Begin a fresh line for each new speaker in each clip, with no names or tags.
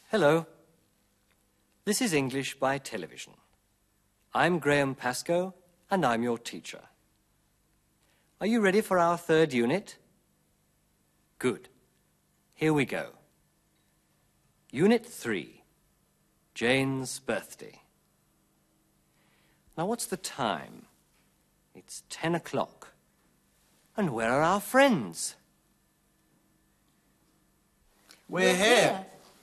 Hello. This is English by television. I'm Graham Pascoe, and I'm your teacher. Are you ready for our third unit? Good. Here we go. Unit 3, Jane's birthday. Now, what's the time? It's 10 o'clock. And where are our friends?
We're here.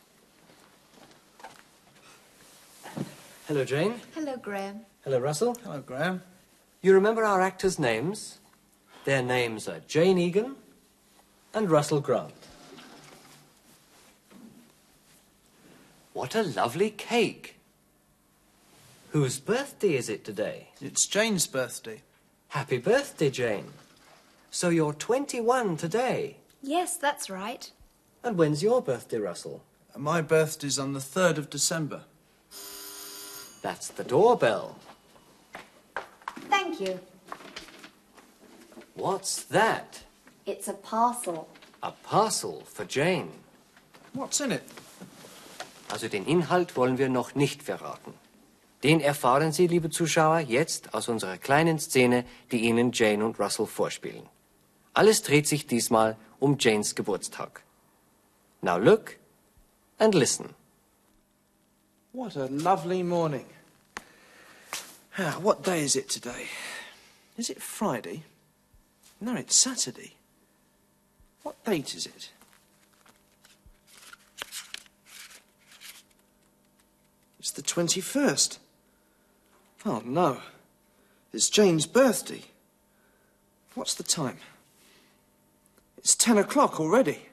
Hello, Jane.
Hello, Graham.
Hello, Russell.
Hello, Graham.
You remember our actors' names? Their names are Jane Egan and Russell Grant. What a lovely cake. Whose birthday is it today?
It's Jane's birthday.
Happy birthday, Jane. So you're 21 today.
Yes, that's right.
And when's your birthday, Russell?
My birthday's on the 3rd of December.
That's the doorbell.
Thank you.
What's that?
It's a parcel.
A parcel for Jane.
What's in it?
Also den Inhalt wollen wir noch nicht verraten. Den erfahren Sie, liebe Zuschauer, jetzt aus unserer kleinen Szene, die Ihnen Jane und Russell vorspielen. Alles dreht sich diesmal um Janes Geburtstag. Now look and listen.
What a lovely morning. What day is it today? Is it Friday? No, it's Saturday. What date is it? It's the 21st. Oh, no. It's Jane's birthday. What's the time? It's 10 o'clock already.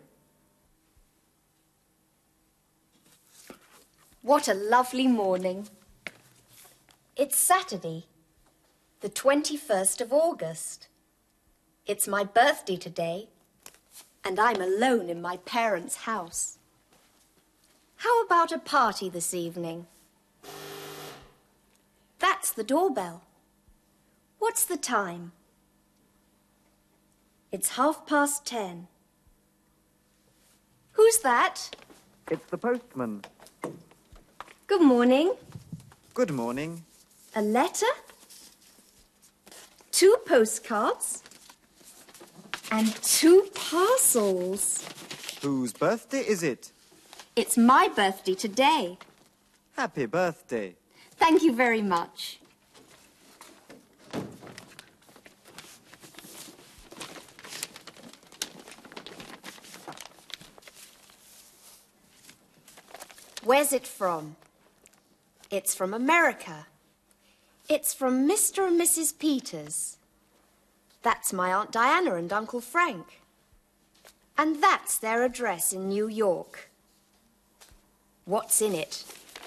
What a lovely morning. It's Saturday, the 21st of August. It's my birthday today, and I'm alone in my parents' house. How about a party this evening? That's the doorbell. What's the time? It's 10:30. Who's that?
It's the postman.
Good morning.
Good morning.
A letter? 2 postcards? And 2 parcels.
Whose birthday is it?
It's my birthday today.
Happy birthday.
Thank you very much. Where's it from? It's from America. It's from Mr. and Mrs. Peters. That's my Aunt Diana and Uncle Frank. And that's their address in New York. What's in it?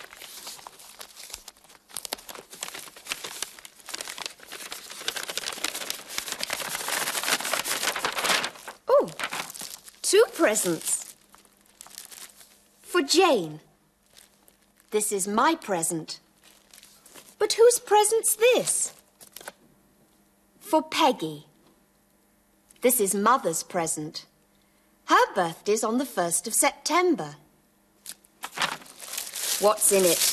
Oh, 2 presents. For Jane. This is my present. But whose present's this? For Peggy. This is Mother's present. Her birthday's on the 1st of September. What's in it?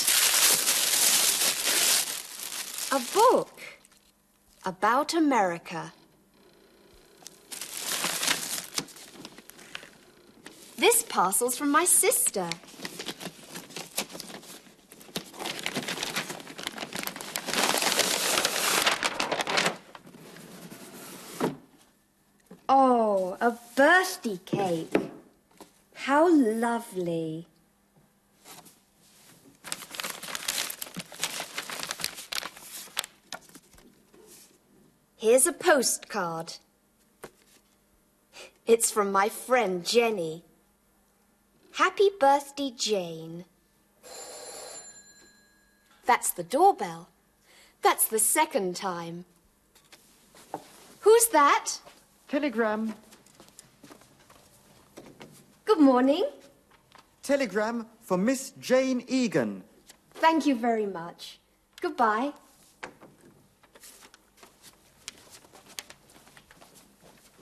A book about America. This parcel's from my sister. Oh, a birthday cake. How lovely. Here's a postcard. It's from my friend Jenny. Happy birthday, Jane. That's the doorbell. That's the 2nd time. Who's that?
Telegram.
Good morning.
Telegram for Miss Jane Egan.
Thank you very much. Goodbye.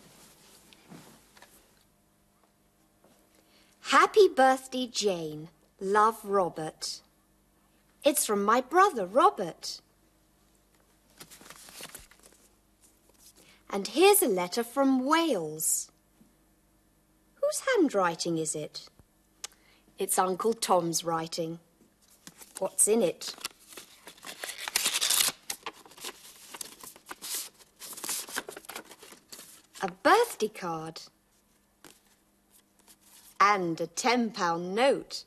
Happy birthday, Jane. Love, Robert. It's from my brother, Robert. And here's a letter from Wales. Whose handwriting is it? It's Uncle Tom's writing. What's in it? A birthday card. And a £10 note.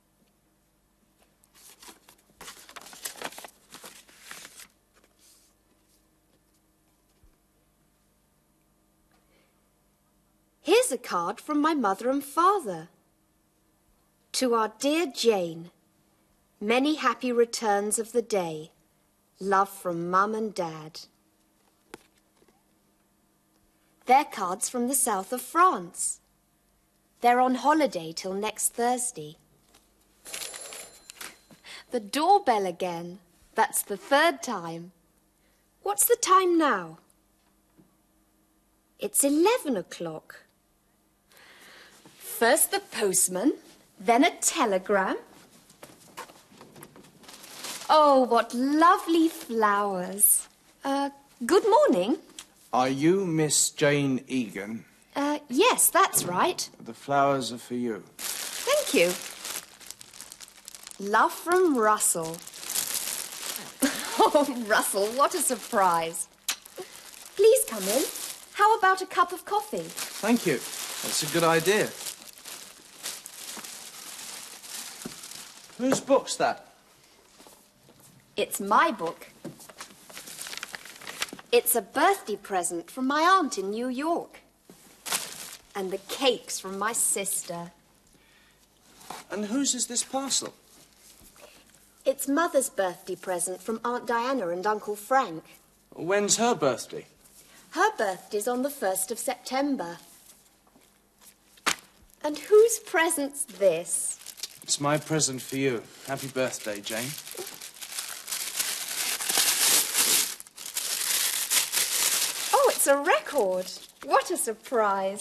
Here's a card from my mother and father. To our dear Jane, many happy returns of the day. Love from Mum and Dad. They're cards from the south of France. They're on holiday till next Thursday. The doorbell again. That's the third time. What's the time now? It's 11 o'clock. First the postman, then a telegram. Oh, what lovely flowers. Good morning.
Are you Miss Jane Egan?
Yes, that's right.
The flowers are for you.
Thank you. Love from Russell. Oh, Russell, what a surprise. Please come in. How about a cup of coffee?
Thank you. That's a good idea. Whose book's that?
It's my book. It's a birthday present from my aunt in New York. And the cake's from my sister.
And whose is this parcel?
It's Mother's birthday present from Aunt Diana and Uncle Frank.
When's her birthday?
Her birthday's on the 1st of September. And whose present's this?
It's my present for you. Happy birthday, Jane.
Oh, it's a record. What a surprise.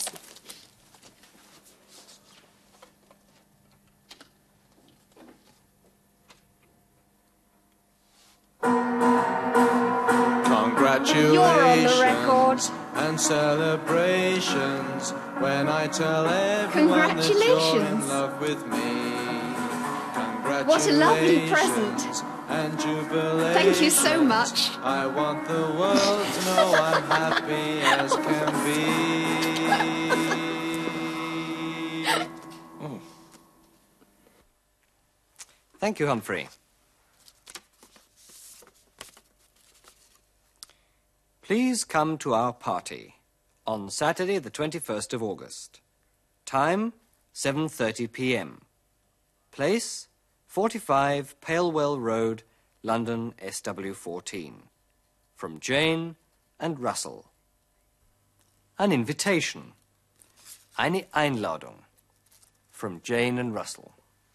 Congratulations.
You're on the record.
And celebrations when I tell everyone that you're in
Congratulations.
love with me.
What a lovely present.
And jubilations.
Thank you so much.
I want the world to know I'm happy as can be. Oh.
Thank you, Humphrey. Please come to our party on Saturday, the 21st of August. Time, 7:30 p.m. Place, 45 Palewell Road, London, SW14. From Jane and Russell. An invitation. Eine Einladung. From Jane and Russell.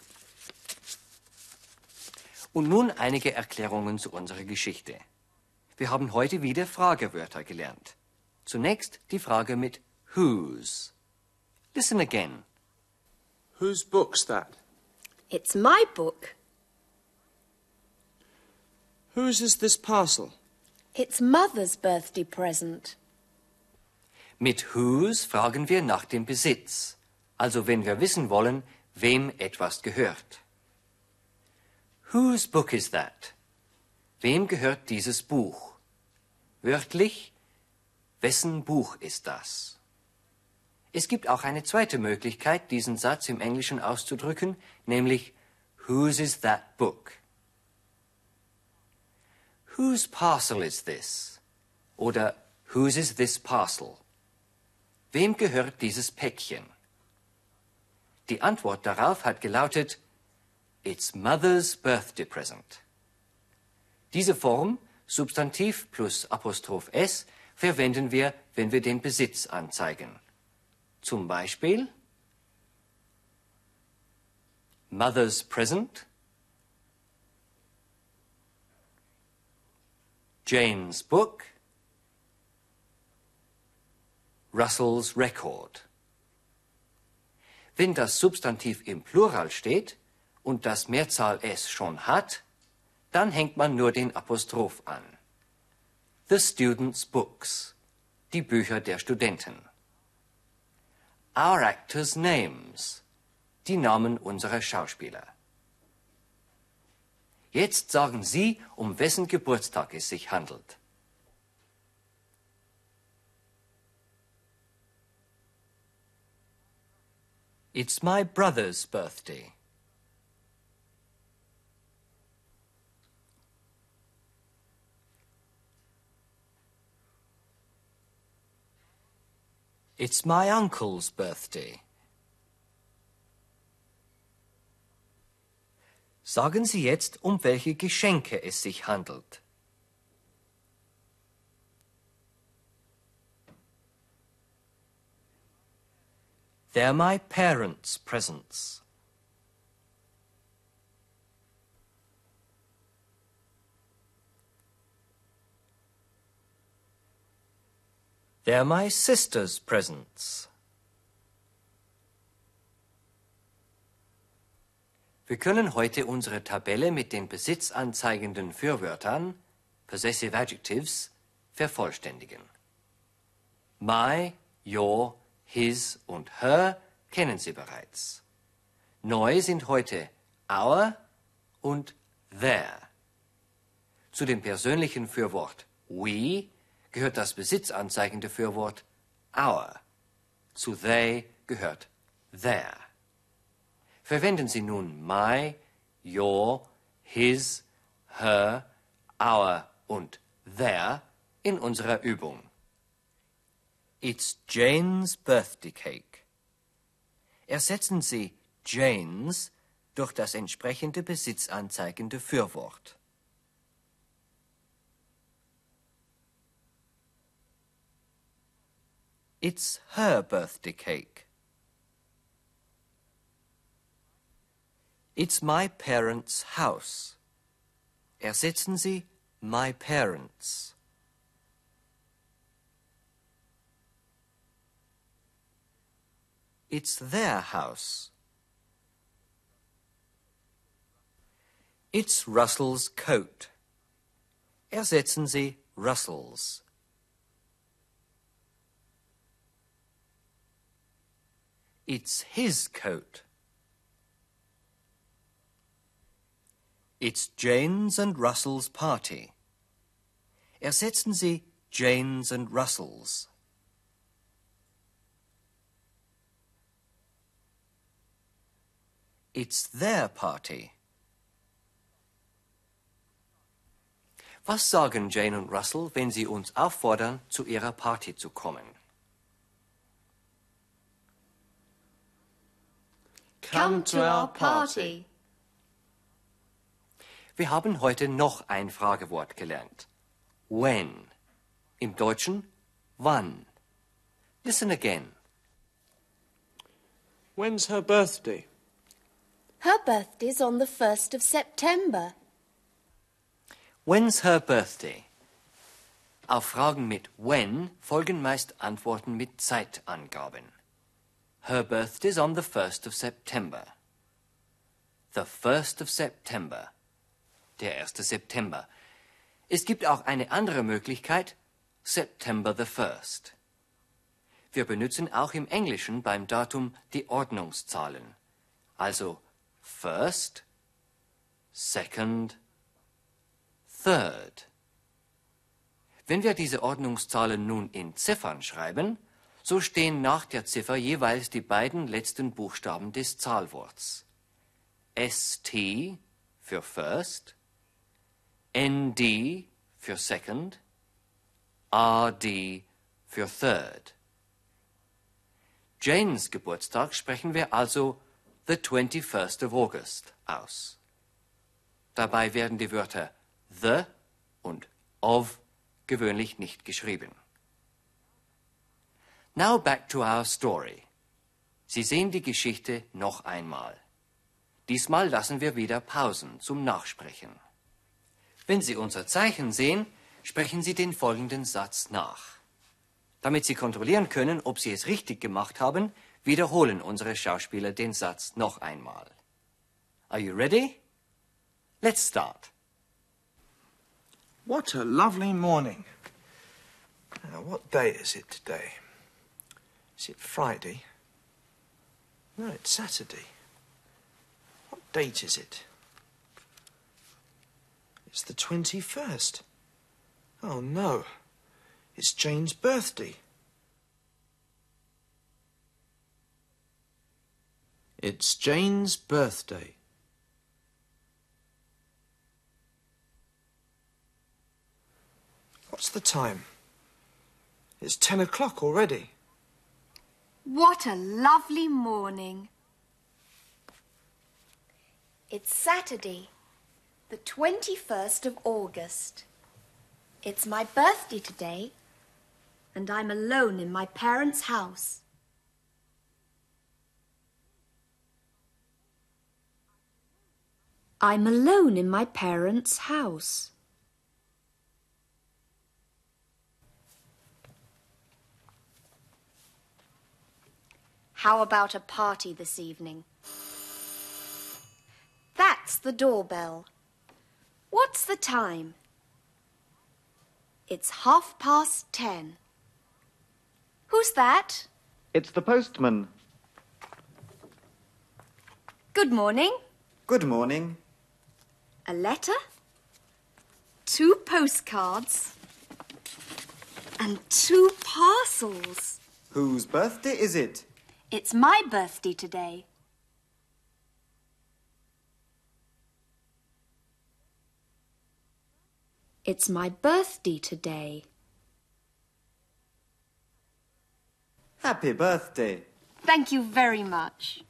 Und nun einige Erklärungen zu unserer Geschichte. Wir haben heute wieder Fragewörter gelernt. Zunächst die Frage mit whose. Listen again.
Whose book's that?
It's my book.
Whose is this parcel?
It's Mother's birthday present.
Mit whose fragen wir nach dem Besitz. Also wenn wir wissen wollen, wem etwas gehört. Whose book is that? Wem gehört dieses Buch? Wörtlich, wessen Buch ist das? Es gibt auch eine zweite Möglichkeit, diesen Satz im Englischen auszudrücken, nämlich whose is that book? Whose parcel is this? Oder whose is this parcel? Wem gehört dieses Päckchen? Die Antwort darauf hat gelautet, it's Mother's birthday present. Diese Form, Substantiv plus Apostroph S, verwenden wir, wenn wir den Besitz anzeigen. Zum Beispiel Mother's present, Jane's book, Russell's record. Wenn das Substantiv im Plural steht und das Mehrzahl S schon hat, dann hängt man nur den Apostroph an. The students' books, die Bücher der Studenten. Our actors' names, die Namen unserer Schauspieler. Jetzt sagen Sie, um wessen Geburtstag es sich handelt. It's my brother's birthday. It's my uncle's birthday. Sagen Sie jetzt, um welche Geschenke es sich handelt. They're my parents' presents. They're my sister's presents. Wir können heute unsere Tabelle mit den besitzanzeigenden Fürwörtern, possessive adjectives, vervollständigen. My, your, his und her kennen Sie bereits. Neu sind heute our und their. Zu dem persönlichen Fürwort we gehört das besitzanzeigende Fürwort our. Zu they gehört their. Verwenden Sie nun my, your, his, her, our und their in unserer Übung. It's Jane's birthday cake. Ersetzen Sie Jane's durch das entsprechende besitzanzeigende Fürwort. It's her birthday cake. It's my parents' house. Ersetzen Sie my parents. It's their house. It's Russell's coat. Ersetzen Sie Russell's. It's his coat. It's Jane's and Russell's party. Ersetzen Sie Jane's and Russell's. It's their party. Was sagen Jane und Russell, wenn sie uns auffordern, zu ihrer Party zu kommen?
Come to our party.
Wir haben heute noch ein Fragewort gelernt. When. Im Deutschen wann. Listen again.
When's her birthday?
Her birthday's on the 1st of September.
When's her birthday? Auf Fragen mit when folgen meist Antworten mit Zeitangaben. Her birthday's on the 1st of September. The 1st of September. Der 1. September. Es gibt auch eine andere Möglichkeit, September the 1st. Wir benutzen auch im Englischen beim Datum die Ordnungszahlen. Also first, second, third. Wenn wir diese Ordnungszahlen nun in Ziffern schreiben, so stehen nach der Ziffer jeweils die beiden letzten Buchstaben des Zahlworts. ST für first, ND für second, RD für third. Janes Geburtstag sprechen wir also the 21st of August aus. Dabei werden die Wörter the und of gewöhnlich nicht geschrieben. Now back to our story. Sie sehen die Geschichte noch einmal. Diesmal lassen wir wieder Pausen zum Nachsprechen. Wenn Sie unser Zeichen sehen, sprechen Sie den folgenden Satz nach. Damit Sie kontrollieren können, ob Sie es richtig gemacht haben, wiederholen unsere Schauspieler den Satz noch einmal. Are you ready? Let's start.
What a lovely morning. Now, what day is it today? Is it Friday? No, it's Saturday. What date is it? It's the 21st. Oh, no. It's Jane's birthday. It's Jane's birthday. What's the time? It's 10 o'clock already.
What a lovely morning. It's Saturday, the 21st of August. It's my birthday today, and I'm alone in my parents' house. I'm alone in my parents' house. How about a party this evening? That's the doorbell. What's the time? It's 10:30. Who's that?
It's the postman.
Good morning.
Good morning.
A letter? 2 postcards? And 2 parcels.
Whose birthday is it?
It's my birthday today. It's my birthday today.
Happy birthday.
Thank you very much.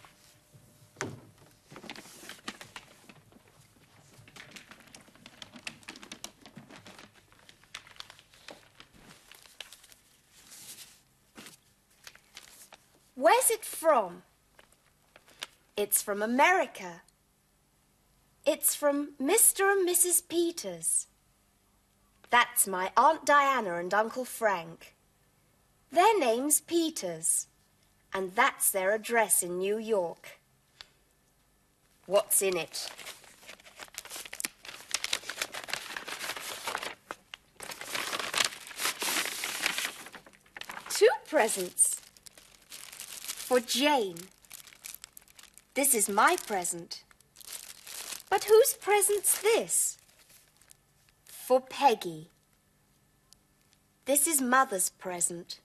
Where's it from? It's from America. It's from Mr. and Mrs. Peters. That's my Aunt Diana and Uncle Frank. Their name's Peters, and that's their address in New York. What's in it? Two presents. For Jane. This is my present. But whose present's this? For Peggy. This is Mother's present.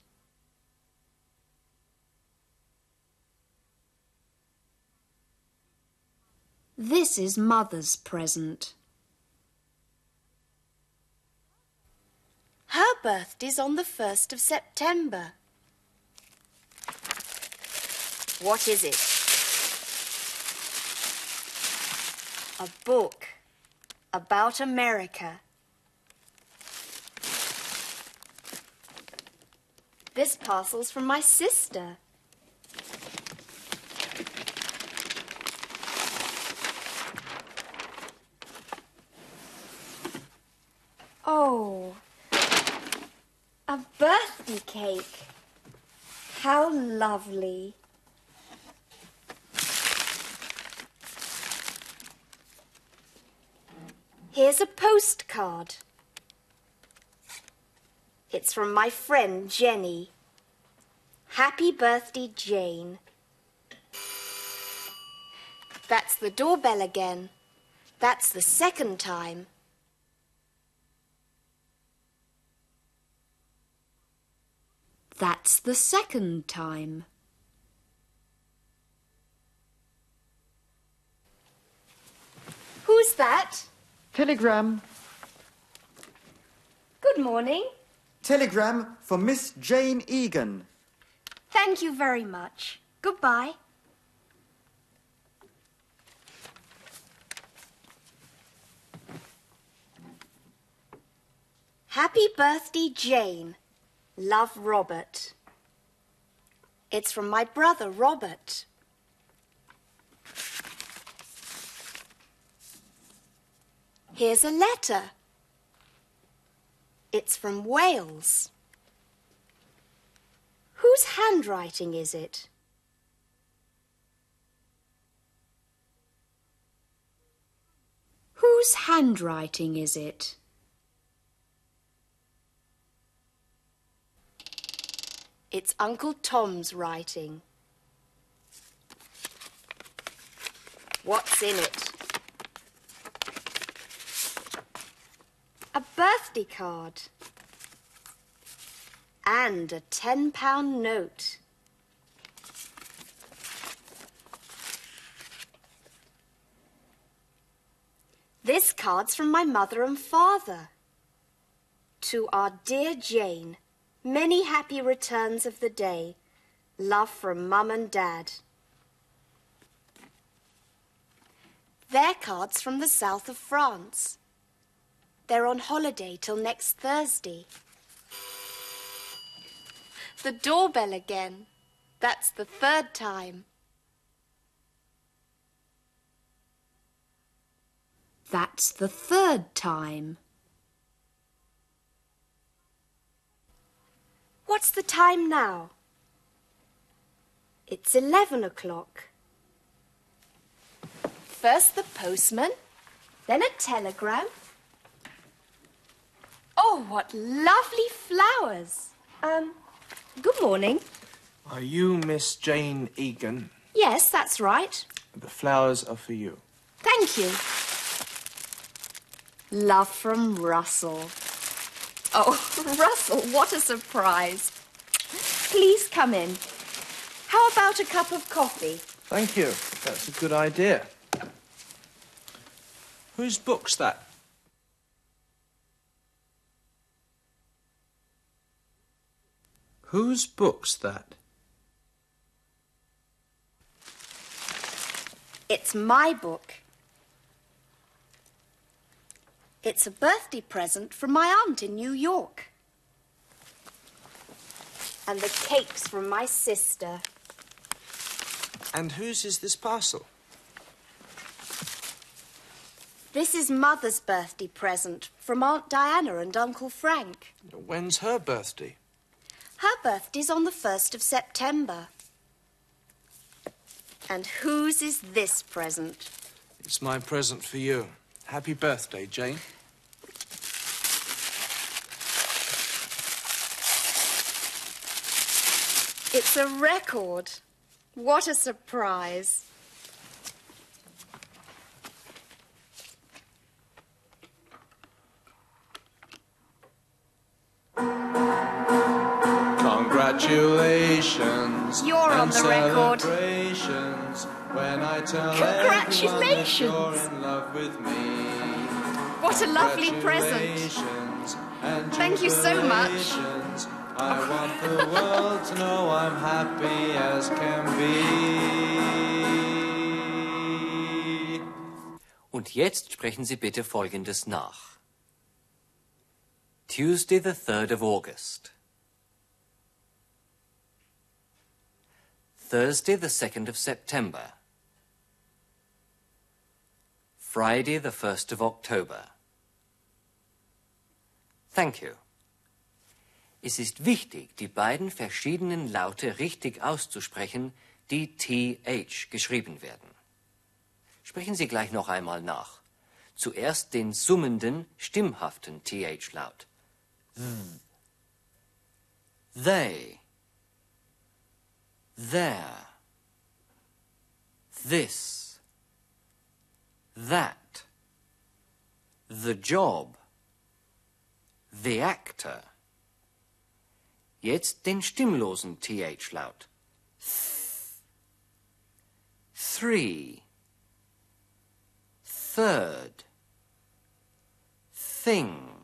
This is Mother's present. Her birthday's on the 1st of September. What is it? A book about America. This parcel's from my sister. Oh, a birthday cake. How lovely. Here's a postcard. It's from my friend Jenny. Happy birthday, Jane. That's the doorbell again. That's the second time. That's the second time. Who's that?
Telegram.
Good morning.
Telegram for Miss Jane Egan.
Thank you very much. Goodbye. Happy birthday, Jane. Love, Robert. It's from my brother, Robert. Here's a letter. It's from Wales. Whose handwriting is it? Whose handwriting is it? It's Uncle Tom's writing. What's in it? A birthday card. And a £10 note. This card's from my mother and father. To our dear Jane, many happy returns of the day. Love from Mum and Dad. Their cards from the south of France. They're on holiday till next Thursday. The doorbell again. That's the third time. That's the third time. What's the time now? It's 11 o'clock. First the postman, then a telegram. Oh, what lovely flowers. Good morning.
Are you Miss Jane Egan?
Yes, that's right.
The flowers are for you.
Thank you. Love from Russell. Oh, Russell, what a surprise. Please come in. How about a cup of coffee?
Thank you. That's a good idea. Whose book's that? Whose book's that?
It's my book. It's a birthday present from my aunt in New York. And the cake's from my sister.
And whose is this parcel?
This is Mother's birthday present from Aunt Diana and Uncle Frank.
When's her birthday?
Her birthday's on the 1st of September. And whose is this present?
It's my present for you. Happy birthday, Jane.
It's a record. What a surprise.
Congratulations.
You're on the record.
Celebrations when I tell
Congratulations.
everyone that you're in love with me.
What a lovely present.
Congratulations and
Thank you so much.
jubilations. I want the world to know I'm happy as can be.
Und jetzt sprechen Sie bitte Folgendes nach. Tuesday the 3rd of August. Thursday the 2nd of September. Friday the 1st of October. Thank you. Es ist wichtig, die beiden verschiedenen Laute richtig auszusprechen, die TH geschrieben werden. Sprechen Sie gleich noch einmal nach. Zuerst den summenden, stimmhaften TH-Laut. They, there, this, that, the job, the actor. Jetzt den stimmlosen TH-Laut. Three, third, thing,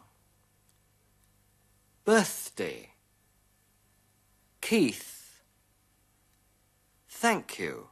birthday, Keith, thank you.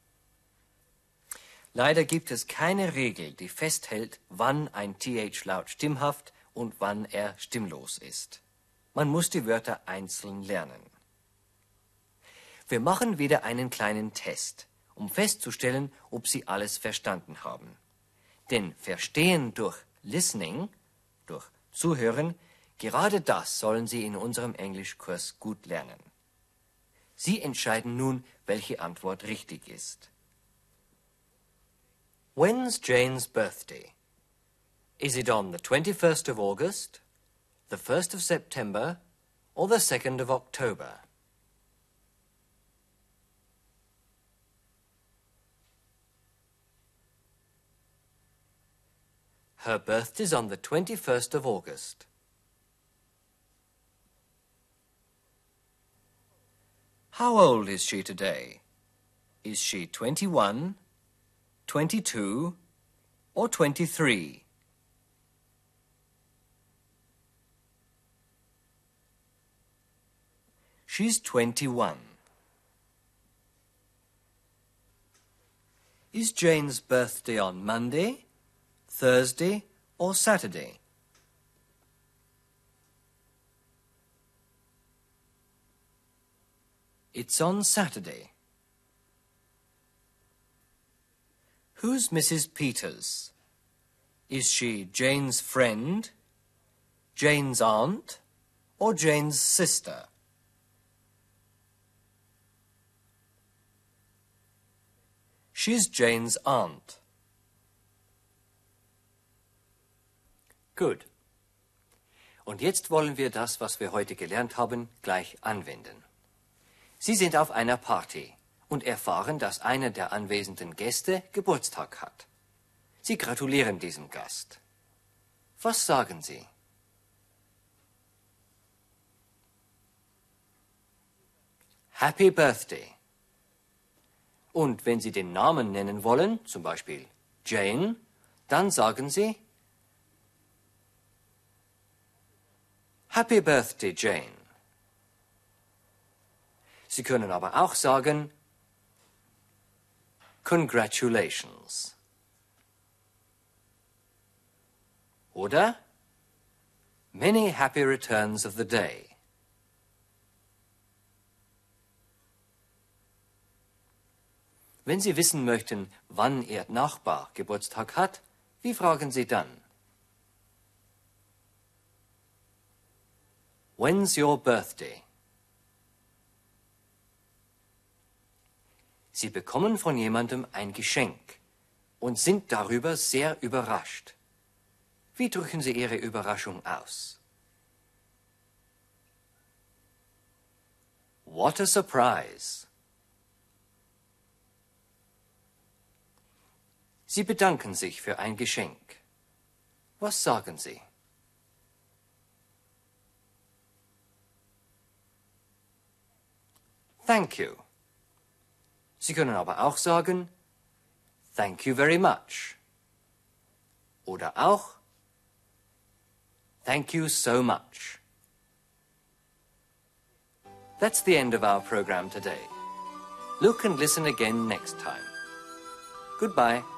Leider gibt es keine Regel, die festhält, wann ein TH-Laut stimmhaft und wann er stimmlos ist. Man muss die Wörter einzeln lernen. Wir machen wieder einen kleinen Test, um festzustellen, ob Sie alles verstanden haben. Denn Verstehen durch Listening, durch Zuhören, gerade das sollen Sie in unserem Englischkurs gut lernen. Sie entscheiden nun, welche Antwort richtig ist. When's Jane's birthday? Is it on the 21st of August, the 1st of September, or the 2nd of October? Her birthday's on the 21st of August. How old is she today? Is she 21, 22, or 23? She's 21. Is Jane's birthday on Monday, Thursday, or Saturday? It's on Saturday. Who's Mrs. Peters? Is she Jane's friend, Jane's aunt, or Jane's sister? She's Jane's aunt. Gut. Und jetzt wollen wir das, was wir heute gelernt haben, gleich anwenden. Sie sind auf einer Party und erfahren, dass einer der anwesenden Gäste Geburtstag hat. Sie gratulieren diesem Gast. Was sagen Sie? Happy Birthday. Und wenn Sie den Namen nennen wollen, zum Beispiel Jane, dann sagen Sie Happy Birthday, Jane. Sie können aber auch sagen Congratulations. Oder Many happy returns of the day. Wenn Sie wissen möchten, wann Ihr Nachbar Geburtstag hat, wie fragen Sie dann? When's your birthday? Sie bekommen von jemandem ein Geschenk und sind darüber sehr überrascht. Wie drücken Sie Ihre Überraschung aus? What a surprise! Sie bedanken sich für ein Geschenk. Was sagen Sie? Thank you. Sie können aber auch sagen, Thank you very much. Oder auch, Thank you so much. That's the end of our program today. Look and listen again next time. Goodbye.